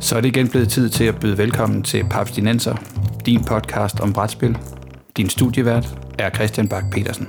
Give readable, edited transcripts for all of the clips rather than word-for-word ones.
Så er det igen blevet tid til at byde velkommen til Papstinenser, din podcast om brætspil. Din studievært er Christian Bak Petersen.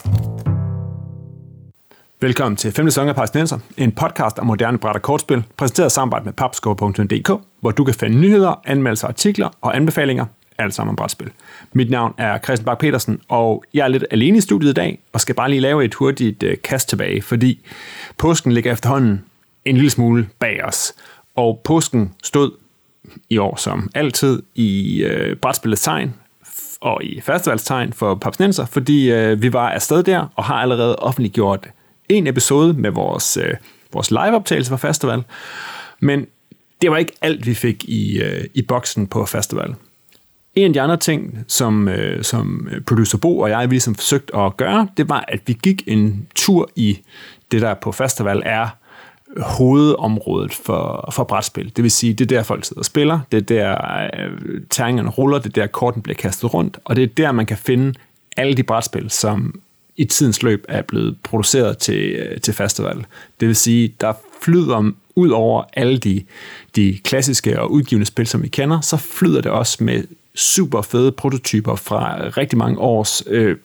Velkommen til 5. sæson af Papstinenser, en podcast om moderne bræt- og kortspil, præsenteret i samarbejde med papskov.dk, hvor du kan finde nyheder, anmeldelser, artikler og anbefalinger, alt sammen om brætspil. Mit navn er Christian Bak Petersen, og jeg er lidt alene i studiet i dag, og skal bare lige lave et hurtigt kast tilbage, fordi påsken ligger efterhånden en lille smule bag os. Og påsken stod i år som altid i brætspillets tegn og i festivalstegn for Papstinenser, fordi vi var afsted der og har allerede offentliggjort en episode med vores liveoptagelse fra festival. Men det var ikke alt, vi fik i boksen på festival. En af de andre ting, som producer Bo og jeg ligesom forsøgte at gøre, det var, at vi gik en tur i det, der på festival er hovedområdet for brætspil. Det vil sige, det er der folk sidder og spiller, det er der terningerne ruller, det er der korten bliver kastet rundt, og det er der, man kan finde alle de brætspil, som i tidens løb er blevet produceret til festival. Det vil sige, der flyder ud over alle de klassiske og udgivende spil, som vi kender, så flyder det også med super fede prototyper fra rigtig mange års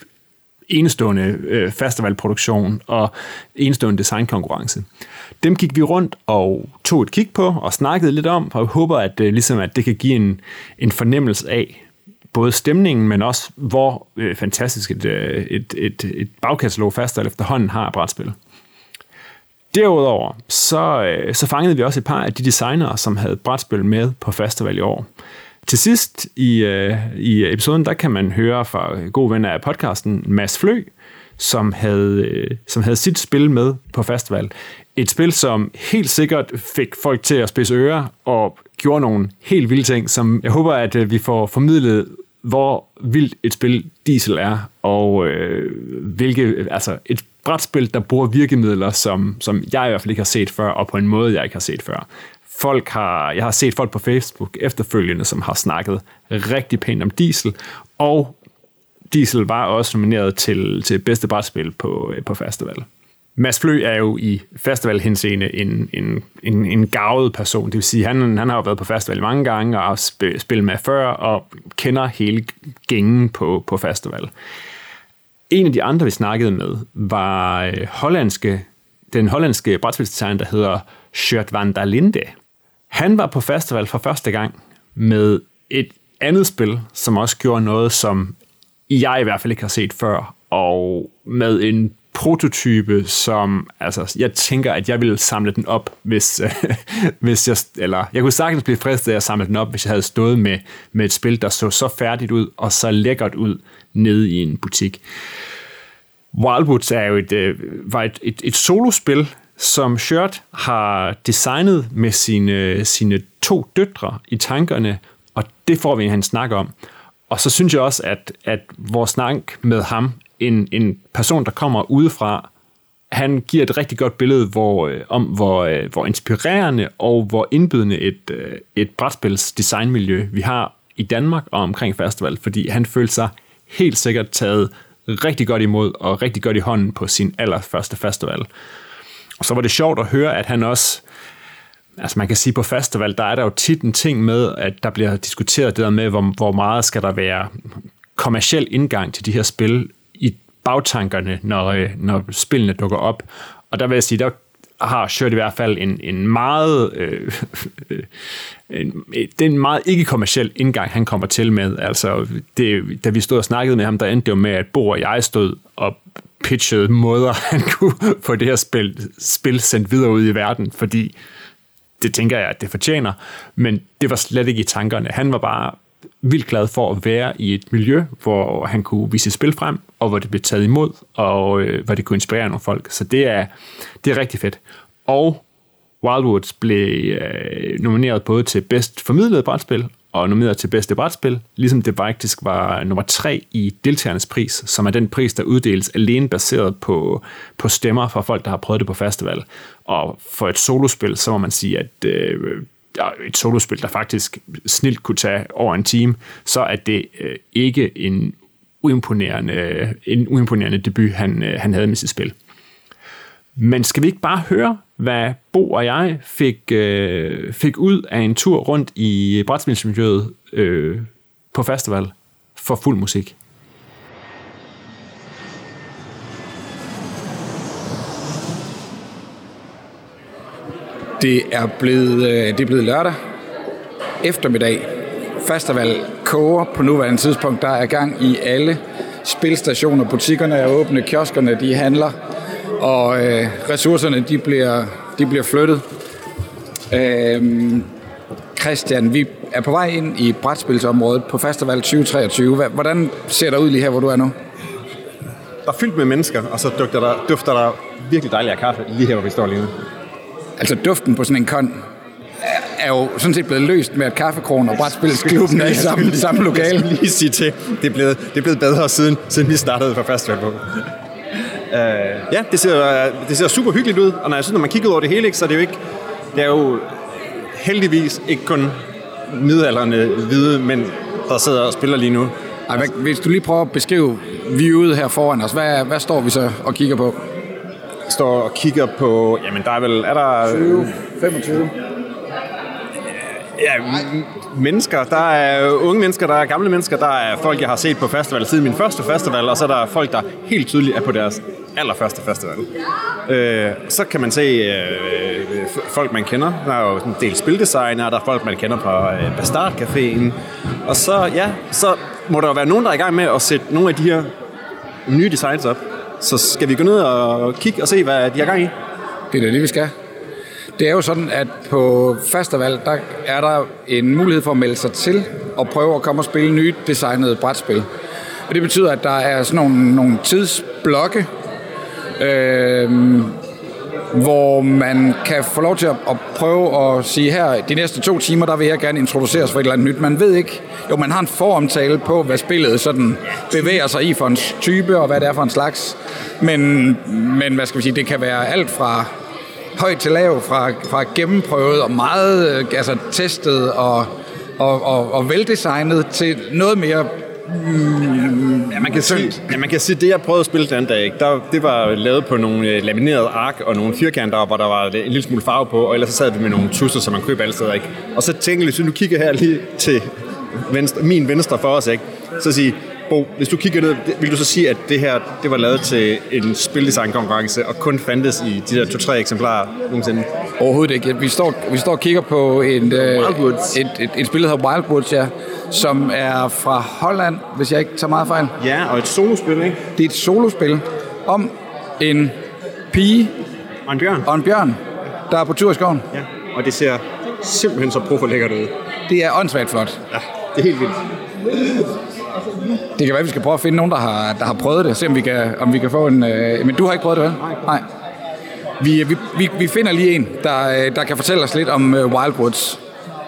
enestående festivalproduktion og enestående designkonkurrence. Dem gik vi rundt og tog et kig på og snakkede lidt om, og jeg håber, at det kan give en fornemmelse af både stemningen, men også hvor fantastisk et bagkatalog festival efterhånden har brætspil. Derudover så fangede vi også et par af de designere, som havde brætspil med på festival i år. Til sidst i episoden, der kan man høre fra gode venner af podcasten, Mads Flø, som havde sit spil med på festival. Et spil, som helt sikkert fik folk til at spidse ører og gjorde nogle helt vilde ting, som jeg håber, at vi får formidlet, hvor vildt et spil Diesel er, og et brætspil, der bruger virkemidler, som jeg i hvert fald ikke har set før, og på en måde, jeg ikke har set før. Jeg har set folk på Facebook efterfølgende, som har snakket rigtig pænt om Diesel, og Diesel var også nomineret til bedste brætspil på festival. Mads Flø er jo i festivalhenseende en garvet person, det vil sige, han har jo været på festival mange gange og har spillet med før og kender hele gængen på festival. En af de andre, vi snakkede med, var den hollandske brætspilsdesigner, der hedder Sjoerd van der Linde. Han var på festival for første gang med et andet spil, som også gjorde noget, som jeg i hvert fald ikke har set før, og med en prototype, som jeg tænker, at jeg ville samle den op, hvis jeg kunne sagtens blive fristet af at samle den op, hvis jeg havde stået med et spil, der så færdigt ud og så lækkert ud nede i en butik. Wildwoods er jo et solospil, som Sjoerd har designet med sine 2 døtre i tankerne, og det får vi en snak om. Og så synes jeg også, at vores snak med ham, en person, der kommer udefra, han giver et rigtig godt billede hvor inspirerende og hvor indbydende et brætspils designmiljø vi har i Danmark og omkring festival, fordi han følte sig helt sikkert taget rigtig godt imod og rigtig godt i hånden på sin allerførste festival. Og så var det sjovt at høre, at han også, man kan sige på festival, der er der jo tit en ting med, at der bliver diskuteret det der med, hvor meget skal der være kommerciel indgang til de her spil i bagtankerne, når spillene dukker op. Og der vil jeg sige, der har Sjoerd i hvert fald en meget den meget ikke-kommerciel indgang, han kommer til med. Altså, da vi stod og snakkede med ham, der endte jo med, at Bo og jeg stod og pitchede måder, han kunne få det her spil sendt videre ud i verden, fordi det tænker jeg, at det fortjener, men det var slet ikke i tankerne. Han var bare vildt glad for at være i et miljø, hvor han kunne vise spil frem, og hvor det blev taget imod, og hvor det kunne inspirere nogle folk. Så det er rigtig fedt. Og Wildwoods blev nomineret både til bedst formidlet brætspil, og nomineret til bedste brætspil, ligesom det faktisk var nummer 3 i deltagernes pris, som er den pris, der uddeles alene baseret på stemmer fra folk, der har prøvet det på festival. Og for et solospil, så må man sige, at et solospil, der faktisk snilt kunne tage over en time, så er det ikke en uimponerende debut, han havde med sit spil. Men skal vi ikke bare høre hvad Bo og jeg fik ud af en tur rundt i brætspilsmiljøet på festival for fuld musik. Det er blevet lørdag eftermiddag. Festival koger på nuværende tidspunkt. Der er gang i alle spilstationer. Butikkerne er åbne, kioskerne de handler, og ressourcerne de bliver flyttet. Christian, vi er på vej ind i brætspilsområdet på Festival 2023. Hvordan ser der ud lige her, hvor du er nu? Der er fyldt med mennesker, og så dufter der virkelig dejlig af kaffe lige her, hvor vi står lige nu. Altså duften på sådan en kon er jo sådan set blevet løst med, at Kaffekronen og Brætspilsklubben er i samme lokale. Jeg skal lige sige til, det er blevet bedre siden vi startede på festival på. Ja, det ser super hyggeligt ud, og når man kigger over det hele, så det er jo heldigvis ikke kun midaldrende hvide mænd, der sidder og spiller lige nu. Ej, hvis du lige prøver at beskrive viewet her foran os, hvad står vi så og kigger på? Står og kigger på, jamen der er der 20, 25? Ja, mennesker. Der er unge mennesker, der er gamle mennesker, der er folk, jeg har set på festival siden min første festival, og så er der folk, der helt tydeligt er på deres allerførste festival. Så kan man se folk, man kender. Der er jo en del spildesignere, der er folk, man kender på Bastard Caféen. Og så må der jo være nogen, der er i gang med at sætte nogle af de her nye designs op. Så skal vi gå ned og kigge og se, hvad de har gang i? Det er det, vi skal. Det er jo sådan, at på festival, der er der en mulighed for at melde sig til og prøve at komme og spille nye designede brætspil. Og det betyder, at der er sådan nogle tidsblokke, hvor man kan få lov til at prøve at sige her, de næste 2 timer, der vil jeg gerne introduceres for et eller andet nyt. Man ved ikke, jo man har en foromtale på, hvad spillet sådan bevæger sig i for en type, og hvad det er for en slags. Men hvad skal vi sige, det kan være alt fra højt til lav, fra gennemprøvet og meget testet og veldesignet til noget mere man kan sige, det jeg prøvede at spille den dag, det var lavet på nogle laminerede ark og nogle firkanter, hvor der var en lille smule farve på, og ellers så sad vi med nogle tusser, som man køber alle steder, ikke? Og så tænkte jeg, hvis du kigger her lige til min venstre for os, ikke? Så sige, Bo, hvis du kigger ned, vil du så sige, at det her, det var lavet til en spildesignkonkurrence, og kun fandtes i de der 2-3 eksemplarer nogensinde? Overhovedet ikke. Vi står og kigger på et spil, der hedder Wildwoods, ja, som er fra Holland, hvis jeg ikke tager meget fejl. Ja, og et solospil, ikke? Det er et solospil om en pige og en bjørn, der er på tur i skoven. Ja, og det ser simpelthen så lækkert ud. Det er åndssvagt flot. Ja, det er helt vildt. Det kan være, at vi skal prøve at finde nogen, der har prøvet det, og se om vi kan få en... Men du har ikke prøvet det, vel? Nej. Vi finder lige en, der kan fortælle os lidt om Wildwoods.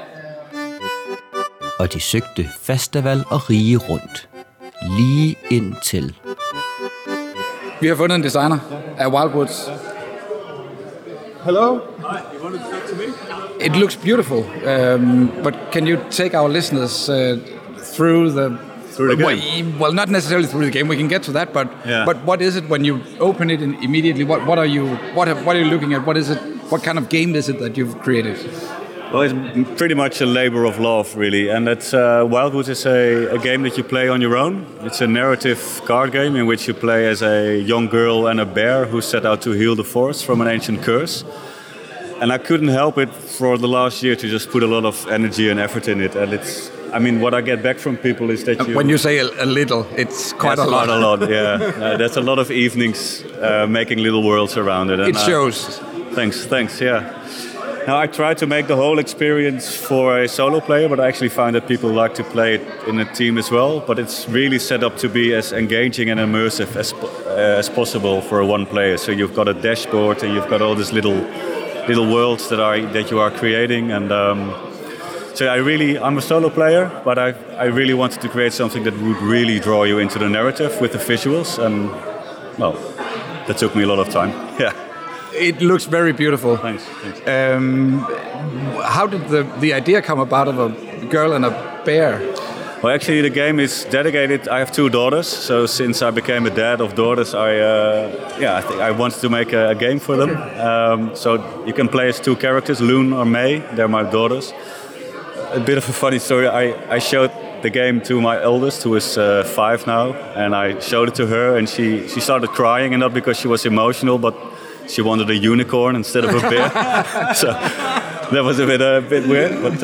Og de søgte festival og rige rundt. Lige indtil... Vi har fundet en designer af Wildwoods. Hello? Hi, you wanted to talk to me? It looks beautiful, but can you take our listeners through the game? Well, not necessarily through the game. We can get to that, but what is it when you open it immediately? What are you looking at? What is it? What kind of game is it that you've created? Well, it's pretty much a labor of love, really, and that's Wildwoods is a game that you play on your own. It's a narrative card game in which you play as a young girl and a bear who set out to heal the forest from an ancient curse. And I couldn't help it for the last year to just put a lot of energy and effort in it, and it's. I mean, what I get back from people is that when you say a little, it's quite a lot. Quite a lot, yeah. That's a lot of evenings making little worlds around it. And it shows. Thanks, yeah. Now, I try to make the whole experience for a solo player, but I actually find that people like to play it in a team as well. But it's really set up to be as engaging and immersive as possible for one player. So you've got a dashboard and you've got all these little worlds that you are creating. And so I'm a solo player, but I really wanted to create something that would really draw you into the narrative with the visuals. And well, that took me a lot of time. Yeah. It looks very beautiful. Thanks. How did the idea come about of a girl and a bear? Well, actually, the game is dedicated. I have 2 daughters, so since I became a dad of daughters, I think I wanted to make a game for them. So you can play as 2 characters, Loon or May. They're my daughters. A bit of a funny story. I showed the game to my eldest, who is 5 now, and I showed it to her, and she started crying, and not because she was emotional, but she wanted a unicorn instead of a bear. So that was a bit weird, but.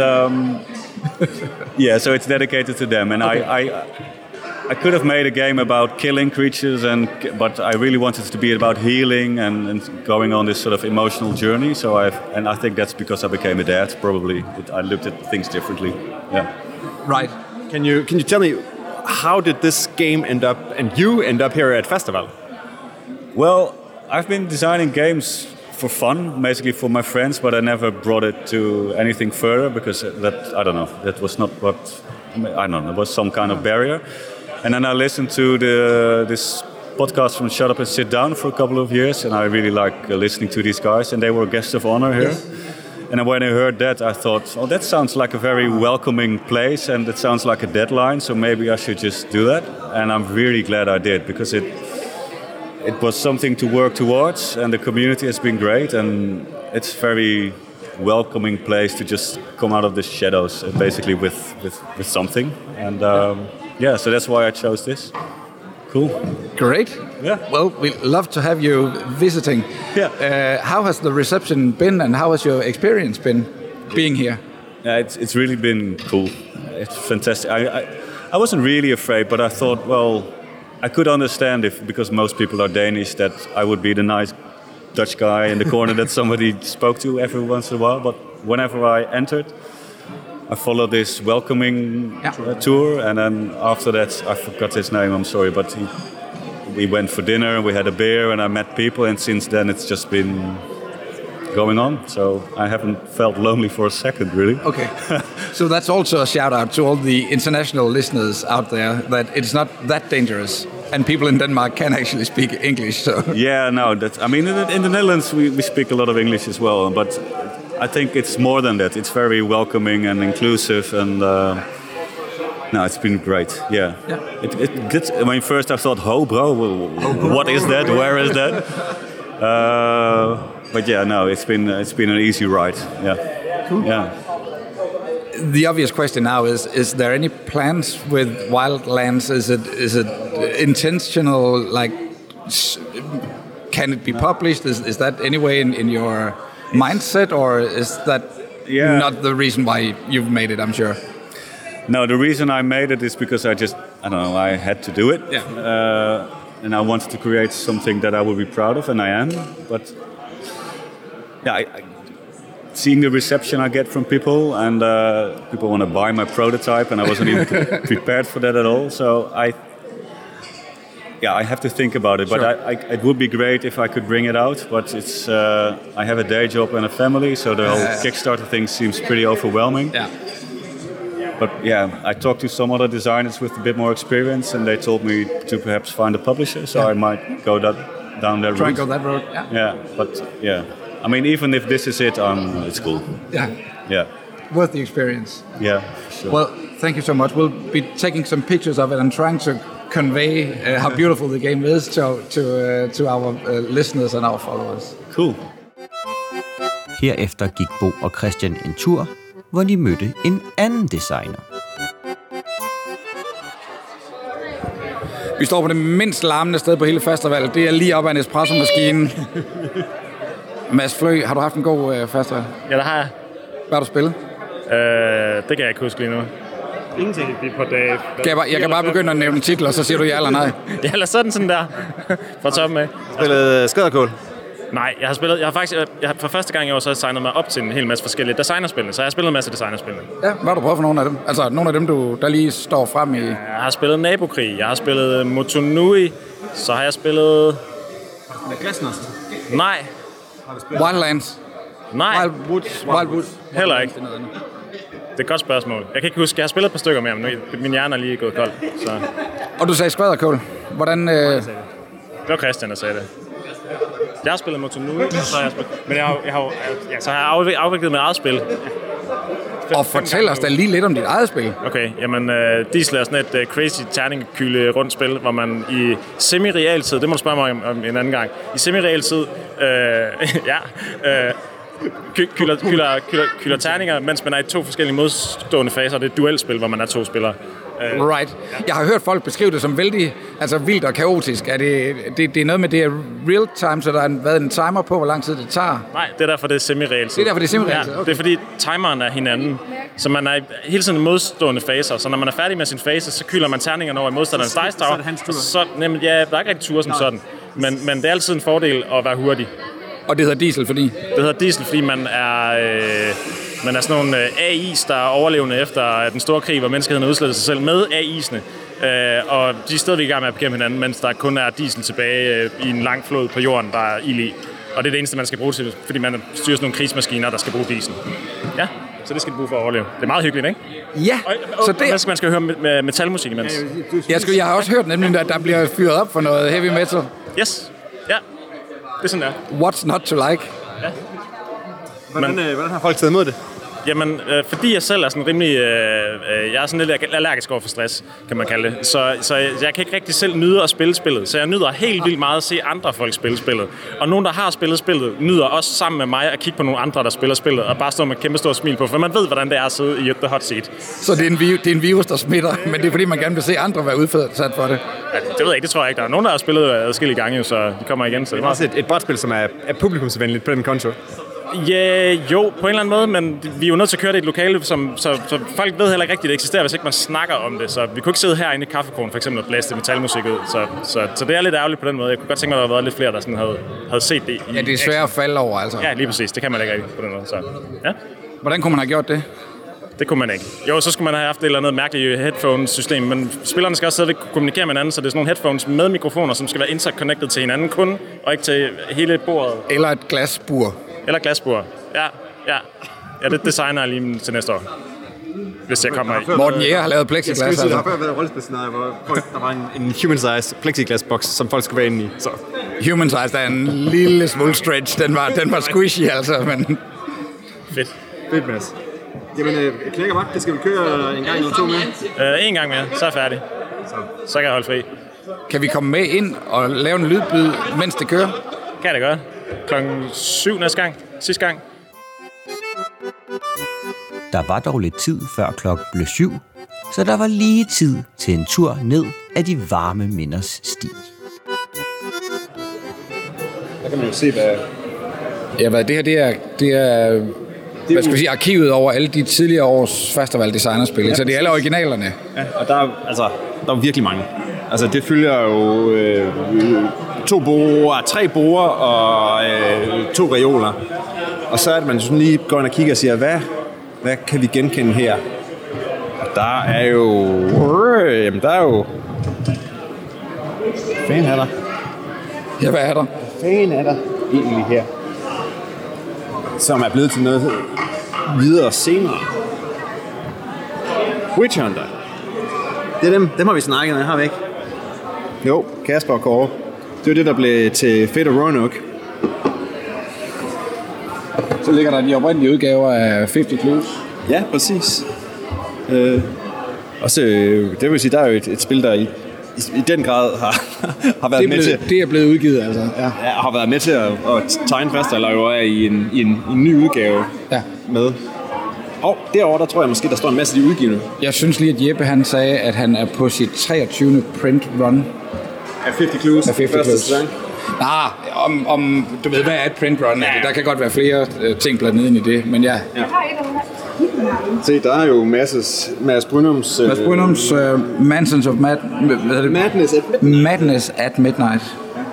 Yeah, so it's dedicated to them, and okay. I could have made a game about killing creatures, but I really wanted it to be about healing and going on this sort of emotional journey. So I think that's because I became a dad. Probably I looked at things differently. Yeah. Right. Can you tell me how did this game end up and you end up here at Festival? Well, I've been designing games for fun, basically for my friends, but I never brought it to anything further because that was not what, it was some kind of barrier. And then I listened to this podcast from Shut Up and Sit Down for a couple of years, and I really like listening to these guys, and they were guests of honor here. Yes. And when I heard that, I thought, oh, that sounds like a very welcoming place, and it sounds like a deadline, so maybe I should just do that. And I'm really glad I did, because it was something to work towards, and the community has been great, and it's a very welcoming place to just come out of the shadows, basically with something. And so that's why I chose this. Cool. Great. Yeah. Well, we'd love to have you visiting. Yeah. How has the reception been, and how has your experience been being here? Yeah, it's really been cool. It's fantastic. I wasn't really afraid, but I thought, well, I could understand because most people are Danish, that I would be the nice Dutch guy in the corner that somebody spoke to every once in a while. But whenever I entered, I followed this welcoming tour, and then after that, I forgot his name, I'm sorry, but we went for dinner, we had a beer, and I met people, and since then it's just been going on. So I haven't felt lonely for a second, really. Okay. So that's also a shout out to all the international listeners out there, that it's not that dangerous, and people in Denmark can actually speak English. So yeah, no, in the Netherlands we speak a lot of English as well, but I think it's more than that. It's very welcoming and inclusive, and it's been great. Yeah. First I thought, bro, what is that? Where is that? But yeah, no, it's been an easy ride. Yeah. Cool. Yeah. The obvious question now is there any plans with Wildlands? Is it intentional? Like, can it be published? Is that anyway in your mindset, or is that not the reason why you've made it? I'm sure. No, the reason I made it is because I had to do it. Yeah. And I wanted to create something that I would be proud of, and I am. But seeing the reception I get from people, and people want to buy my prototype, and I wasn't even prepared for that at all. So I have to think about it. Sure. But it would be great if I could bring it out. But it's I have a day job and a family, so the whole Kickstarter thing seems pretty overwhelming. Yeah. But I talked to some other designers with a bit more experience, and they told me to perhaps find a publisher. So I might go down that route. Try and go that route. Yeah. But even if this is it, it's cool. Yeah. Yeah. Worth the experience. Yeah. Sure. Well, thank you so much. We'll be taking some pictures of it and trying to convey how beautiful the game is to our listeners and our followers. Cool. Herefter gik Bo og Christian en tur, hvor de mødte en anden designer. Vi står på det mindst larmende sted på hele festivalet. Det er lige op ad en espresso-maskine. Mads Flø, har du haft en god festival? Ja, det har jeg. Hvad har du spillet? Det kan jeg ikke huske lige nu. Ingenting på dag. Jeg kan bare begynde at nævne titler, så siger du ja eller nej. Ja, eller sådan der. Fra toppen af. Spillet Skøderkål? Nej, jeg har for første gang i år så signet mig op til en hel masse forskellige designerspil, så jeg har spillet en masse designerspil. Ja, hvad har du prøvet for nogle af dem? Altså nogle af dem, der lige står frem i... Jeg har spillet Nabokrig, jeg har spillet Motonui, så har jeg spillet... Glasnost? Nej. Wildlands? Nej. Wildwoods? Heller ikke. Det er et godt spørgsmål. Jeg kan ikke huske, jeg har spillet et par stykker mere, men min hjerne er lige gået kold. Så. Og du sagde Skvæderkål. Hvordan... Det var Christian, der sagde det. Jeg har spillet Motonui, så har jeg spillet... Men så har jeg afviklet mit eget spil. Og fortæl os da lige lidt om dit eget spil. Okay, jamen Diesel er sådan et crazy terningekyle rundt spil, hvor man i semi-realtid, det må du spørge mig om en anden gang, i semi-realtid, kylder terninger, mens man er i 2 forskellige modstående faser. Det er et duelspil, hvor man er 2 spillere. Right. Jeg har hørt folk beskrive det som vældig vildt og kaotisk. Er det er noget med, det er real time, så der har været en timer på, hvor lang tid det tager? Nej, det er derfor, det er semi-realtid. Okay. Det er fordi timeren er hinanden, så man er hele tiden i modstående faser. Så når man er færdig med sin fase, så kylder man terningerne over i modstanderens dice tower. Så der er ikke rigtig ture som sådan. Men det er altid en fordel at være hurtig. Og det hedder Diesel, fordi? Det hedder Diesel, fordi man er sådan nogle AI's, der er overlevende efter den store krig, hvor menneskeheden har udslettet sig selv med AI'sne. Og de er stadigvæk i gang med at bekæmpe hinanden, mens der kun er Diesel tilbage i en lang flod på jorden, der er ild i. Og det er det eneste, man skal bruge til, fordi man styrer sådan nogle krigsmaskiner, der skal bruge Diesel. Ja, så det skal du bruge for at overleve. Det er meget hyggeligt, ikke? Ja, så det... Man skal høre med metalmusik imens. Jeg har også hørt nemlig, at der bliver fyret op for noget heavy metal. Yes, ja. Det er sådan der. What's not to like? Ja. Hvordan har folk taget imod det? Jamen, fordi jeg selv er sådan rimelig... jeg er sådan lidt allergisk over for stress, kan man kalde det. Så jeg kan ikke rigtig selv nyde at spille spillet. Så jeg nyder helt vildt meget at se andre folk spille spillet. Og nogen, der har spillet spillet, nyder også sammen med mig at kigge på nogle andre, der spiller spillet, og bare stå med et kæmpe stort smil på. For man ved, hvordan det er at sidde i the hot seat. Så det er en virus, der smitter, men det er fordi, man gerne vil se andre være udsat for det? Ja, det ved jeg ikke, det tror jeg ikke. Der er nogen, der har spillet adskillige gange, så de kommer igen. Så det er også et brætspil, som er publikumsvenligt på den konto. Ja, jo, på en eller anden måde, men vi er jo nødt til at køre det i et lokale, så folk ved heller ikke rigtigt, det eksisterer, hvis ikke man snakker om det. Så vi kunne ikke sidde herinde i Kaffekronen for eksempel og blæse metalmusik ud. Så det er lidt ærgerligt på den måde. Jeg kunne godt tænke mig, at der havde været lidt flere, der sådan havde set det. Ja, det er svært at falde over, altså. Ja, lige præcis. Det kan man ikke rigtig på den måde. Så, ja. Hvordan kunne man have gjort det? Det kunne man ikke. Jo, så skulle man have haft et eller andet mærkeligt headphones-system, men spillerne skal også stadigvæk kunne kommunikere med hinanden, så det er sådan nogle headphones med mikrofoner, som skal være interconnected til hinanden kun, og ikke til hele bordet. Eller et glasbur. Eller glasbur. Ja, det designer jeg lige til næste år. Hvis jeg kommer i. Morten Jæger har lavet plexiglas. Jeg skulle der har før været rollespilscenarie, hvor der var en human-sized plexiglasboks, som folk skulle være inde i. Så. Human-sized er en lille smule stretch. Den var squishy, altså, men... Fedt, Mads. Jamen, knækker vagt, det skal vi køre en gang eller 2 mere? En gang mere, så er jeg færdig. Så kan jeg holde fri. Kan vi komme med ind og lave en lydbid, mens det kører? Kan det godt. 7:00 næste gang. Sidste gang. Der var dog lidt tid før klokken blev 7, så der var lige tid til en tur ned ad de varme minders sti. Der kan man jo se, hvad... Ja, hvad det her, det er hvad skal vi sige, arkivet over alle de tidligere års festival designerspil, ja, så det er alle originalerne. Ja, og der er virkelig mange. Altså, det følger jo 3 borer og 2 reoler. Og så er det, man sådan lige går ind og kigger og siger, hvad kan vi genkende her? Og der er jo... Hvad fanden er der? Ja, hvad er der? Hvad fanden er der egentlig her? Som er blevet til noget videre senere. Witch Hunter. Det er dem har vi snakket med, har vi ikke? Jo, Kasper og Kåre. Det var det, der blev til Fate of Roanoke. Så ligger der de oprindelige udgaver af 50 Clues. Ja, præcis. Også, det vil sige, der er jo et spil, der i den grad har været med til... Det er blevet udgivet, altså. Ja, har været med til at tegne fast, eller jo er i en ny udgave med. Og derovre, der tror jeg måske, der står en masse af de udgivende. Jeg synes lige, at Jeppe han sagde, at han er på sit 23. print run. Af 50 Clues. Af 50 Clues. Om du ved, hvad er et print run? Ja. Der kan godt være flere ting blandet ind i det, men ja. Se, der er jo Mads Brynums... Mansions of Madness at Midnight.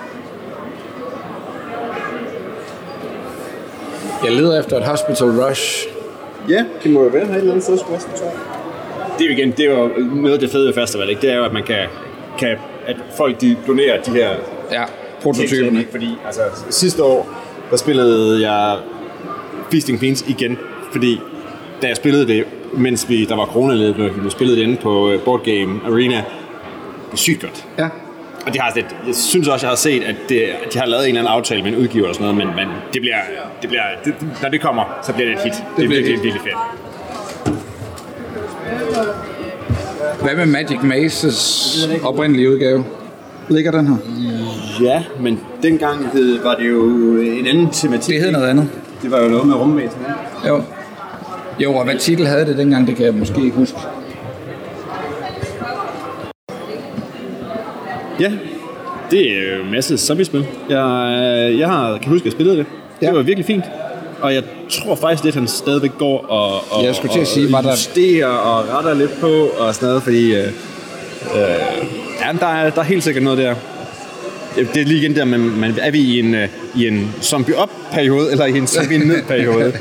Jeg leder efter et Hospital Rush. Ja, det må jo være her et eller andet sted. Det er jo igen, det er jo noget af det fede ved festival, ikke? Det er jo, at man kan at folk de donerer de her prototyperne. Fordi altså, sidste år, der spillede jeg Feasting Fiends igen, fordi da jeg spillede det, mens der var coronaledet, vi spillede det inde på Board Game Arena, det var sygt godt. Ja. Og jeg synes også, jeg har set, at de har lavet en eller anden aftale med en udgiver og sådan noget, men det bliver når det kommer, så bliver det et hit. Det bliver virkelig fedt. Hvad med Magic Mazes oprindelige udgave? Ligger den her? Ja, men dengang var det jo en anden tematik. Det hed noget andet. Det var jo noget med rumvæsen. Jo, og hvad titel havde det dengang, det kan jeg måske ikke huske. Ja, det er jo en masse zombie-spil. Jeg kan huske, at jeg spillede det. Ja. Det var virkelig fint. Og jeg tror faktisk lidt, at han stadigvæk går og jeg skulle til at sige, var der justerer og retter lidt på og sådan noget, fordi der er helt sikkert noget der. Det er lige igen der, man er vi i en zombie-up-periode, eller i en zombie-ned-periode.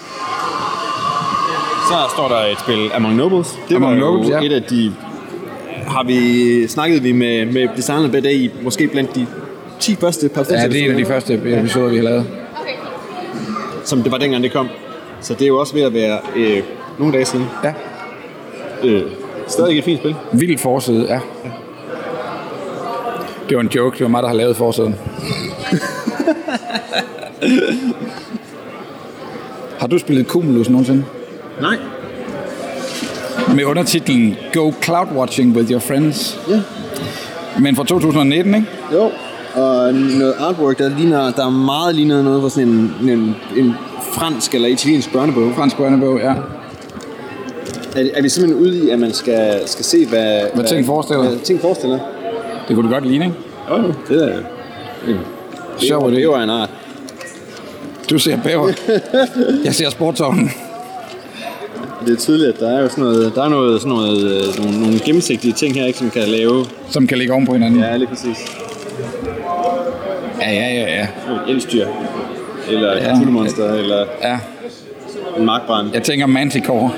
Så står der et spil, Among Nobles. Det var jo et af de... Snakkede vi med designerne bag i, måske blandt de 10 første par. Ja, det er en af de første episoder, vi har lavet. Som det var dengang, det kom. Så det er jo også ved at være nogle dage siden. Ja. Stadig et fint spil. Vildt forside, ja. Det var en joke, det var mig, der har lavet forsiden. Har du spillet Cumulus nogensinde? Nej. Med undertitlen Go Cloud Watching with Your Friends. Ja. Men fra 2019, ikke? Jo. Og noget artwork, der meget ligner noget fra sådan en fransk eller italiensk børnebog. Fransk børnebog, ja. Er vi simpelthen ude i, at man skal se, hvad ting forestiller? Hvad ting forestiller? Det kunne du godt ligne, ikke? Jo, det er sjovt, det. Det var en art. Du ser bæver. Jeg ser sportsovnen. Det er tydeligt, at der er jo nogle gennemsigtige ting her, ikke, som kan lave... Som kan ligge oven på hinanden. Ja, lige præcis. Ja. Elstyr. Eller et Cthulhu-monster, eller en markbrand. Jeg tænker Manticore.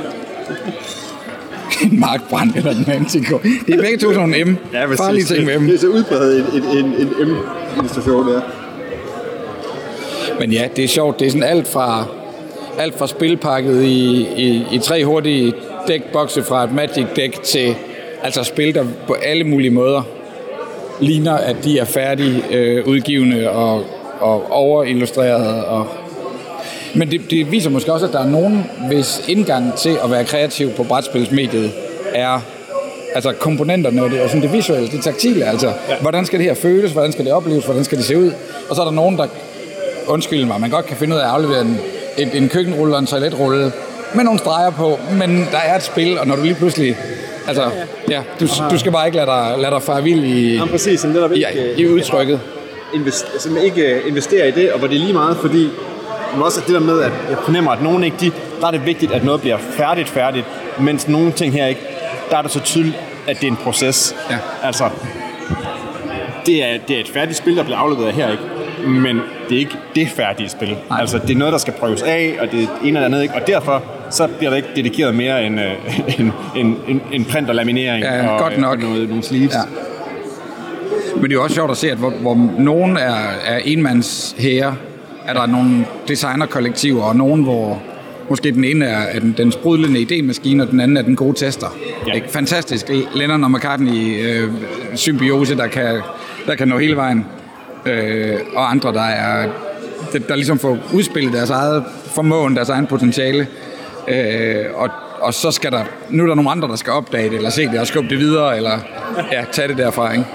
En markbrand eller en Manticore. Det er begge to sådan en M. Ja, farlige ting med M. Det er så udbredt en M-illustration, der. Men ja, det er sjovt. Det er sådan alt fra spilpakket i 3 hurtige dækbokse fra et Magic-dæk til altså spil, der på alle mulige måder ligner, at de er færdige udgivende og overillustrerede. Men det viser måske også, at der er nogen, hvis indgang til at være kreativ på brætspilsmediet er altså komponenterne og det visuelle, det taktile, altså hvordan skal det her føles, hvordan skal det opleves, hvordan skal det se ud, og så er der nogen, der undskyld mig, man godt kan finde ud af at aflevere en køkkenrulle og en toiletrulle med nogle streger på, men der er et spil, og når du lige pludselig altså, du skal bare ikke lade dig fare vild i udtrykket. Ikke investere i det, og hvor det er lige meget, fordi også det der med, at jeg fornemmer, at nogen ikke, der er det vigtigt, at noget bliver færdigt, mens nogle ting her ikke, der er det så tydeligt, at det er en proces. Ja. Altså, det er et færdigt spil, der bliver afleveret her, ikke? Men det er ikke det færdige spil. Nej. Altså, det er noget, der skal prøves af, og det er ene eller andet, ikke? Og derfor så bliver der ikke dedikeret mere end print og laminering og, godt nok. Og nogle sleeves. Ja. Men det er også sjovt at se, at hvor nogen er enmandshære, er der nogle designerkollektiver, og nogen, hvor måske den ene er den sprudlende idémaskine, og den anden er den gode tester. Ja. Fantastisk. Lennon og McCartney symbiose, der kan nå hele vejen. Og andre, der ligesom får udspillet deres eget formåen, deres egen potentiale. Og så skal nu er der nogle andre, der skal opdage det, eller se det og skubbe det videre, eller tage det derfra, ikke?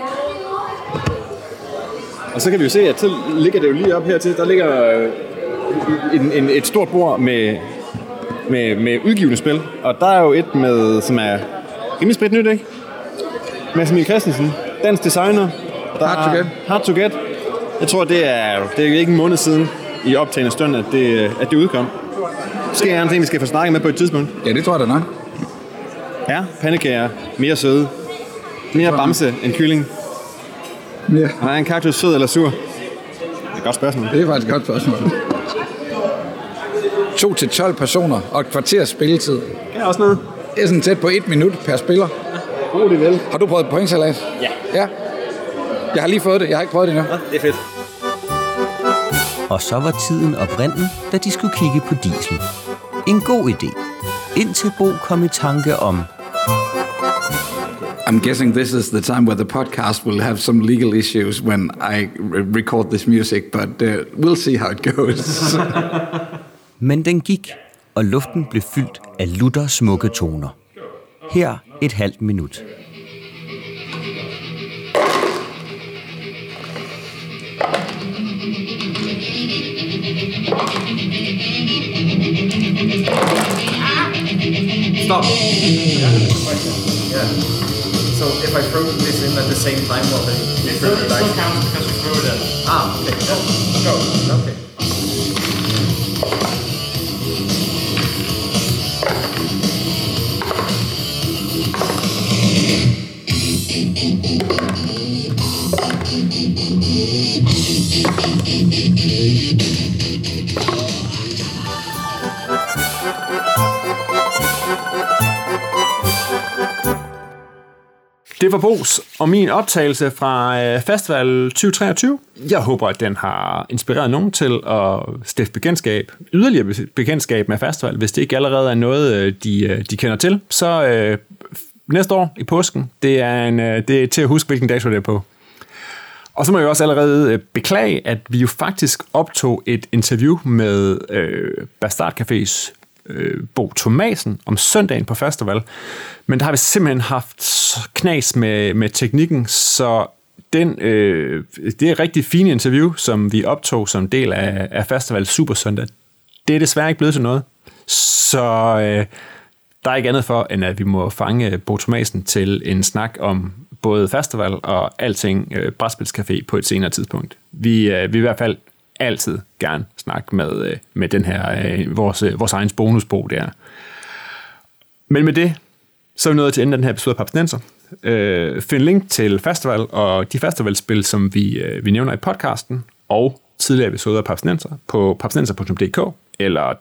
Og så kan vi jo se, at så ligger det jo lige op hertil. Der ligger et stort bord med udgivende spil. Og der er jo et som er rimelig sprit nyt, ikke? Mads Emil Christensen, dansk designer. Hard to Get. Jeg tror, det er ikke en måned siden i optagende stund, at det udkom. Måske er en ting, vi skal få snakket med på et tidspunkt. Ja, det tror jeg da nok. Ja, pandekager. Mere søde. Mere bamse end kylling. Ja. Er en kaktus sød eller sur? Det er et godt spørgsmål. Det er faktisk et godt spørgsmål. 2 til 12 personer og et kvarters spilletid. Ja, også noget. Det er sådan tæt på 1 minut per spiller. Ja, det vel. Har du prøvet pointsalat? Ja. Jeg har lige fået det. Jeg har ikke prøvet det endnu. Ja, det er fedt. Og så var tiden oprindelig, da de skulle kigge på diesel. En god idé. Indtil Bo kom i tanke om... I'm guessing this is the time where the podcast will have some legal issues when I record this music, but we'll see how it goes. Men den gik, og luften blev fyldt af lutter smukke toner. Her et halvt minut. Stop. Yeah. So if I throw this in at the same time, well, then it still counts because you threw it in. Okay. Go. Okay. Det var Bos og min optagelse fra Festival 2023. Jeg håber, at den har inspireret nogen til at stifte yderligere bekendtskab med festival, hvis det ikke allerede er noget, de kender til. Så næste år i påsken, det er til at huske, hvilken dato det er på. Og så må jeg også allerede beklage, at vi jo faktisk optog et interview med Bastard Cafés Bo Thomasen om søndagen på festival, men der har vi simpelthen haft knas med teknikken, så det er et rigtig fint interview, som vi optog som del af festival Super Søndag. Det er desværre ikke blevet til noget, så der er ikke andet for, end at vi må fange Bo Thomasen til en snak om både festival og alting brætspilscafé på et senere tidspunkt. Vi vil i hvert fald altid gerne snakke med den her, vores egen bonusbo der. Men med det, så er vi nået til enden af den her episode af Papsnenser. Find link til festival og de festivalspil, som vi nævner i podcasten, og tidligere episoder af Papsnenser på papsnenser.dk eller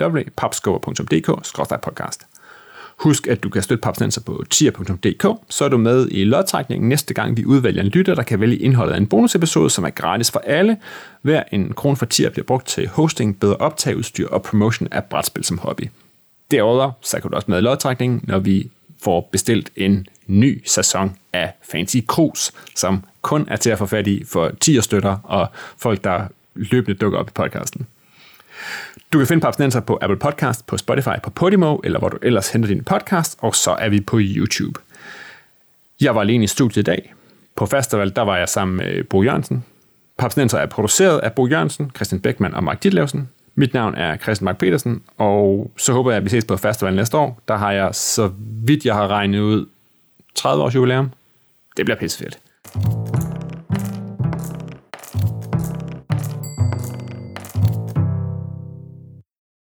www.papskubber.dk/podcast. Husk, at du kan støtte Papsnenser på tier.dk, så er du med i lodtrækningen næste gang, vi udvælger en lytter, der kan vælge indholdet af en bonusepisode, som er gratis for alle. Hver en krone for tier bliver brugt til hosting, bedre optageudstyr og promotion af brætspil som hobby. Derudover så kan du også med i lodtrækningen, når vi får bestilt en ny sæson af Fancy Cruise, som kun er til at få fat i for tier-støtter og folk, der løbende dukker op i podcasten. Du kan finde Papsnenser på Apple Podcast, på Spotify, på Podimo, eller hvor du ellers henter din podcast, og så er vi på YouTube. Jeg var alene i studiet i dag. På festival, der var jeg sammen med Bo Jørgensen. Papsnenser er produceret af Bo Jørgensen, Christian Beckmann og Mark Ditlevsen. Mit navn er Christian Mark Petersen, og så håber jeg, at vi ses på festival næste år. Der har jeg, så vidt jeg har regnet ud, 30 års jubilæum. Det bliver pissefedt.